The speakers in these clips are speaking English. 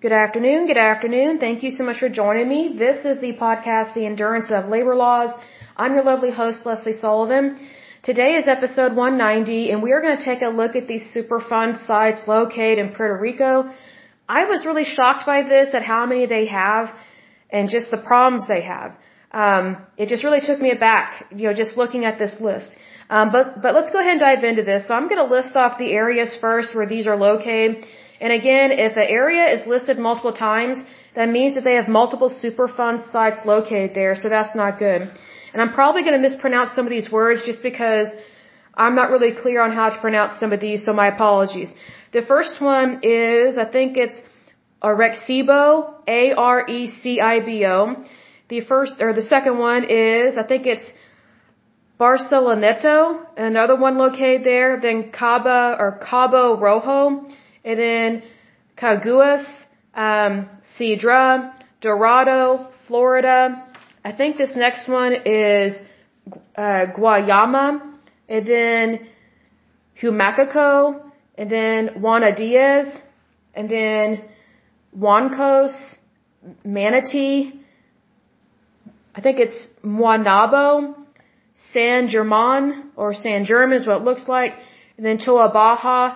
Good afternoon. Good afternoon. Thank you so much for joining me. This is the podcast, The Endurance of Labor Laws. I'm your lovely host, Leslie Sullivan. Today is episode 190, and we are going to take a look at these Superfund sites located in Puerto Rico. I was really shocked by this, at how many they have, and just the problems they have. It just really took me aback, just looking at this list. But let's go ahead and dive into this. So I'm going to list off the areas first where these are located. And again, if an area is listed multiple times, that means that they have multiple Superfund sites located there, so that's not good. And I'm probably going to mispronounce some of these words just because I'm not really clear on how to pronounce some of these, so my apologies. The first one is, I think it's Arecibo, Arecibo. The second one is, I think it's Barceloneta, another one located there, then Cabo Rojo, and then Caguas, Cedra, Dorado, Florida. I think this next one is Guayama, and then Humacaco, and then Juana Diaz, and then Juancos, Manatee, I think it's Moanabo, San German is what it looks like, and then Toa Baja,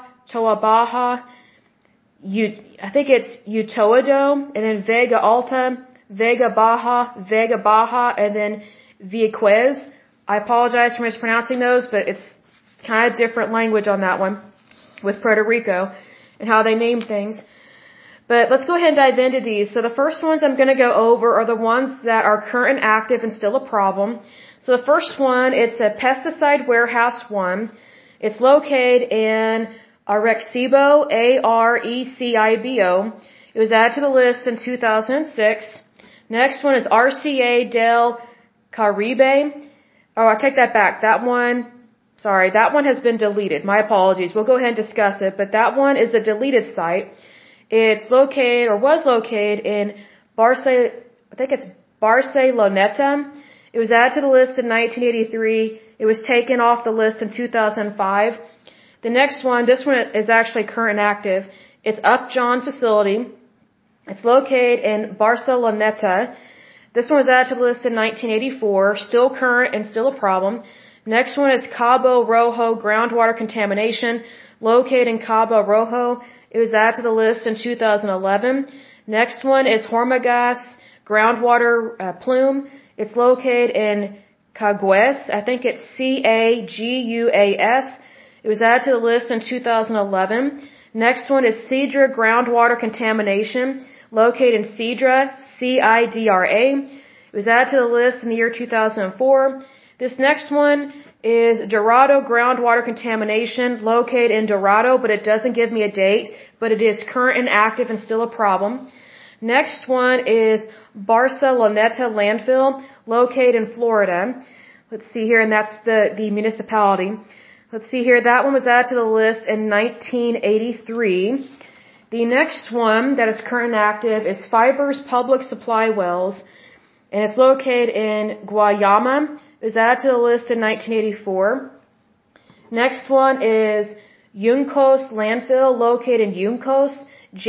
I think it's Utoado, and then Vega Alta, Vega Baja, and then Vieques. I apologize for mispronouncing those, but it's kind of different language on that one with Puerto Rico and how they name things. But let's go ahead and dive into these. So the first ones I'm going to go over are the ones that are current and active and still a problem. So the first one, it's a Pesticide Warehouse 1. It's located in Arecibo, Arecibo. It was added to the list in 2006. Next one is RCA del Caribe. Oh, I take that back. That one has been deleted. My apologies. We'll go ahead and discuss it, but that one is a deleted site. It's located, or was located, in Barceloneta. It was added to the list in 1983. It was taken off the list in 2005. The next one, this one is actually current and active. It's Upjohn Facility. It's located in Barceloneta. This one was added to the list in 1984. Still current and still a problem. Next one is Cabo Rojo Groundwater Contamination, located in Cabo Rojo. It was added to the list in 2011. Next one is Hormigas Groundwater Plume. It's located in Caguas. I think it's Caguas. It was added to the list in 2011. Next one is Cedra Groundwater Contamination, located in Cedra, Cidra. It was added to the list in the year 2004. This next one is Dorado Groundwater Contamination, located in Dorado, but it doesn't give me a date, but it is current and active and still a problem. Next one is Barceloneta Landfill, located in Florida. Let's see here, and that's the municipality. Let's see here, that one was added to the list in 1983. The next one that is current and active is Fibers Public Supply Wells, and it's located in Guayama. It was added to the list in 1984. Next one is Juncos Landfill, located in Juncos,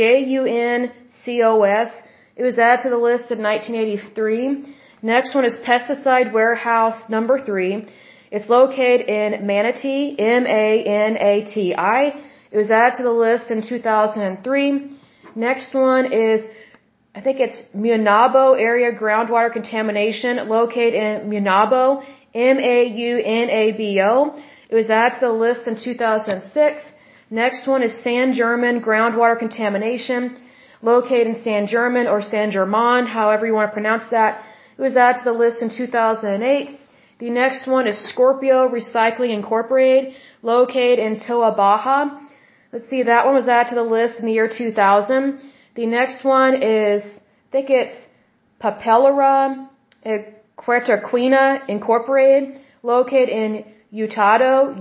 Juncos. It was added to the list in 1983. Next one is Pesticide Warehouse number 3. It's located in Manatee, Manati. It was added to the list in 2003. Next one is, I think it's Moanabo Area Groundwater Contamination, located in Moanabo, Maunabo. It was added to the list in 2006. Next one is San German Groundwater Contamination, located in San German or San German, however you want to pronounce that. It was added to the list in 2008. The next one is Scorpio Recycling Incorporated, located in Toa Baja. Let's see, that one was added to the list in the year 2000. The next one is, I think it's Papelera Quertaquina Incorporated, located in Utuado,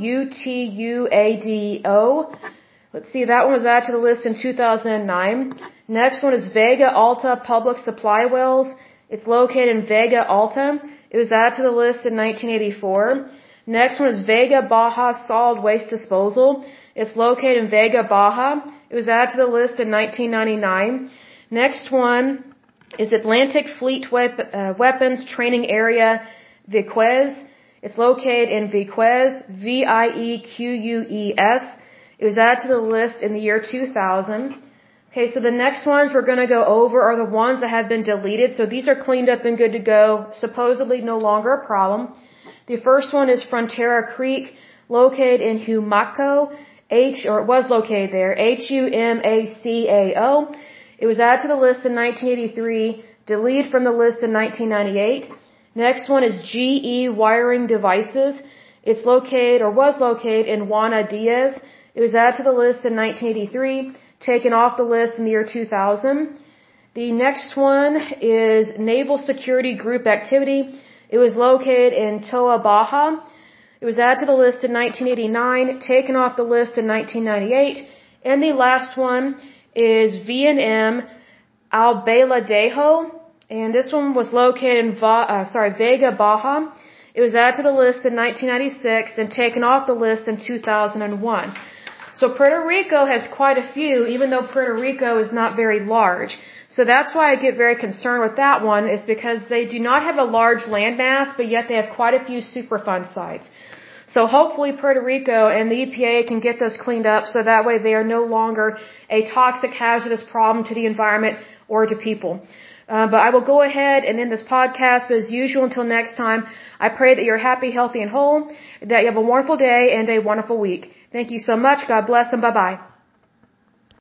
Utuado. Let's see, that one was added to the list in 2009. Next one is Vega Alta Public Supply Wells. It's located in Vega Alta. It was added to the list in 1984. Next one is Vega Baja Solid Waste Disposal. It's located in Vega Baja. It was added to the list in 1999. Next one is Atlantic Fleet Weapons Training Area, Vieques. It's located in Vieques, Vieques. It was added to the list in the year 2000. Okay, so the next ones we're going to go over are the ones that have been deleted. So these are cleaned up and good to go, supposedly no longer a problem. The first one is Frontera Creek, located in Humacao, it was located there, Humacao. It was added to the list in 1983, deleted from the list in 1998. Next one is GE Wiring Devices. It's located, or was located, in Juana Diaz. It was added to the list in 1983, taken off the list in the year 2000. The next one is Naval Security Group Activity. It was located in Toa Baja. It was added to the list in 1989, taken off the list in 1998. And the last one is V&M Albaladejo. And this one was located in Vega Baja. It was added to the list in 1996 and taken off the list in 2001. So Puerto Rico has quite a few, even though Puerto Rico is not very large. So that's why I get very concerned with that one, is because they do not have a large landmass, but yet they have quite a few Superfund sites. So hopefully Puerto Rico and the EPA can get those cleaned up so that way they are no longer a toxic, hazardous problem to the environment or to people. But I will go ahead and end this podcast. But as usual, until next time, I pray that you're happy, healthy, and whole, that you have a wonderful day and a wonderful week. Thank you so much. God bless and bye-bye.